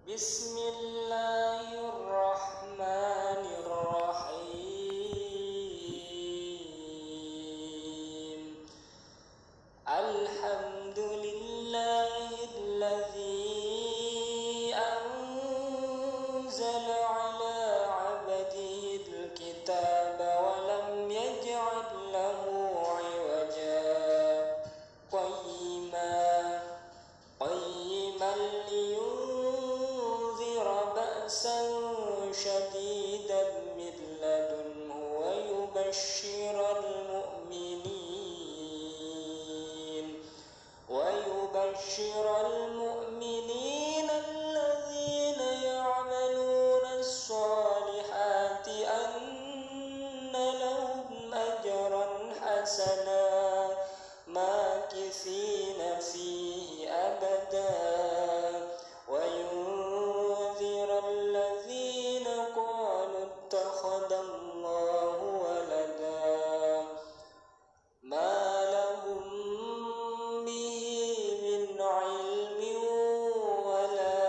Bismillahirrahmanirrahim. Alhamdulillahilladzi anzala ala 'abdihil kitaba wa lam yaj'al lahu 'iwaja qayyiman liyunzira ba'san shadidan min ladunhu wa yubashshiral mu'minin alladhina ya'maluna as-salihati anna lahum ajran hasana makithina fihi abada wa yunzira alladhina qalu ittakhadallahu walada ma lahum bihi min ilmin wala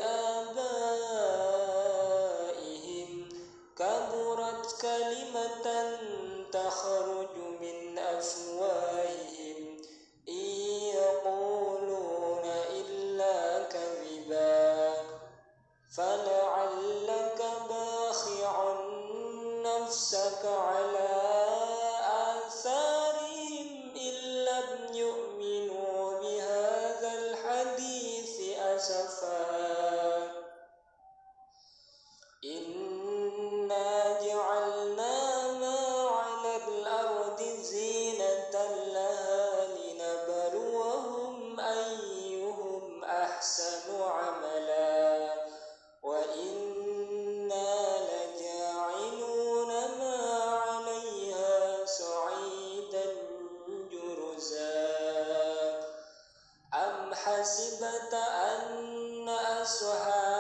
liabaihim kaburat kalimatan takhruju min afwahihim yaquluna illa kadhiba fala'allaka bakhi'un nafsaka ala atharihim illam yu'minu bihadzal hadithi asafa. Inna ja'alna ma 'alal ardi zinatan laha linabluwahum ayyuhum ahsanu 'amala wa inna laja'iluna ma 'alayha sa'idan juruza. Am hasibta anna ashab